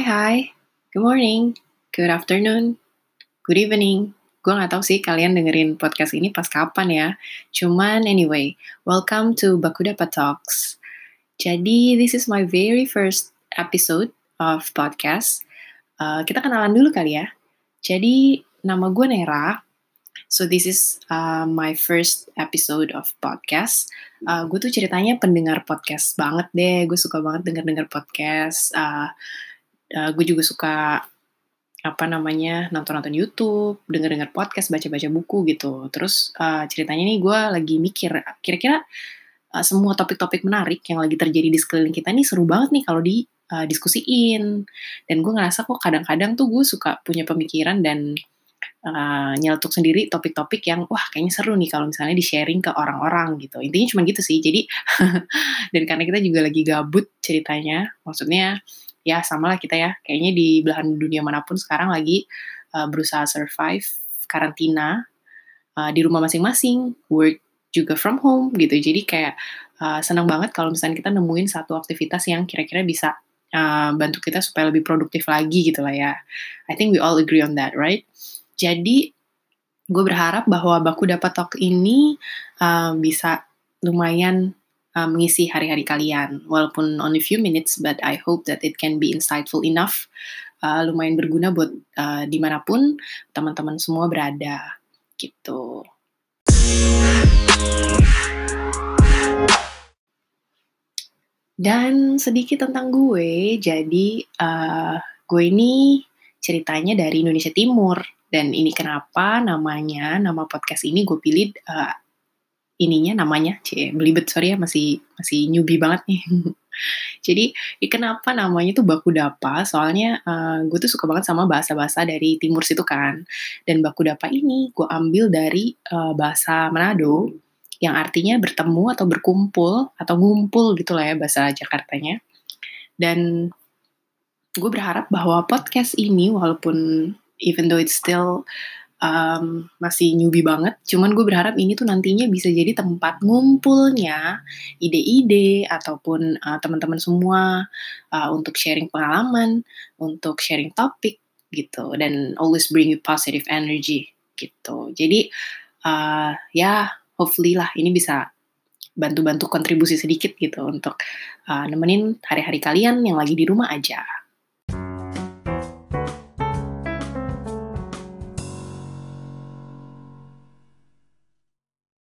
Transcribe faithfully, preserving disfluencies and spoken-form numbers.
Hai, good morning, good afternoon, good evening. Gue gak tahu sih kalian dengerin podcast ini pas kapan ya. Cuman anyway, welcome to Bakudapa Talks. Jadi this is my very first episode of podcast. Uh, kita kenalan dulu kali ya. Jadi nama gue Nera. So this is uh, my first episode of podcast. Uh, gue tuh ceritanya pendengar podcast banget deh. Gue suka banget denger-denger podcast. Uh, uh, gue juga suka apa namanya nonton-nonton YouTube, denger-denger podcast, baca-baca buku gitu. Terus uh, ceritanya nih gue lagi mikir kira-kira uh, semua topik-topik menarik yang lagi terjadi di sekeliling kita nih seru banget nih kalau di uh, diskusiin. Dan gue ngerasa kok kadang-kadang tuh gue suka punya pemikiran dan uh, nyeletuk sendiri topik-topik yang wah kayaknya seru nih kalau misalnya di-sharing ke orang-orang gitu. Intinya cuma gitu sih. Jadi dan karena kita juga lagi gabut ceritanya, maksudnya ya sama lah kita ya, kayaknya di belahan dunia manapun sekarang lagi uh, berusaha survive karantina uh, di rumah masing-masing, work juga from home gitu. Jadi kayak uh, senang banget kalau misalnya kita nemuin satu aktivitas yang kira-kira bisa uh, bantu kita supaya lebih produktif lagi gitu lah ya. I think we all agree on that, right? Jadi gue berharap bahwa Bakudapa Talk ini uh, bisa lumayan uh, mengisi hari-hari kalian. Walaupun only few minutes, but I hope that it can be insightful enough. Uh, lumayan berguna buat uh, dimanapun teman-teman semua berada. Gitu. Dan sedikit tentang gue, jadi uh, gue ini ceritanya dari Indonesia Timur. Dan ini kenapa namanya, nama podcast ini gue pilih uh, ininya namanya, cie, belibet, sorry ya, masih masih newbie banget nih. Jadi, ya kenapa namanya tuh Bakudapa, soalnya uh, gue tuh suka banget sama bahasa-bahasa dari timur situ kan. Dan Bakudapa ini gue ambil dari uh, bahasa Manado, yang artinya bertemu atau berkumpul, atau ngumpul gitu lah ya bahasa Jakartanya. Dan gue berharap bahwa podcast ini, walaupun even though it's still um, masih newbie banget, cuman gue berharap ini tuh nantinya bisa jadi tempat ngumpulnya ide-ide ataupun uh, teman-teman semua uh, untuk sharing pengalaman, untuk sharing topik gitu, dan always bring you positive energy gitu. Jadi uh, ya hopefully lah ini bisa bantu-bantu kontribusi sedikit gitu untuk uh, nemenin hari-hari kalian yang lagi di rumah aja.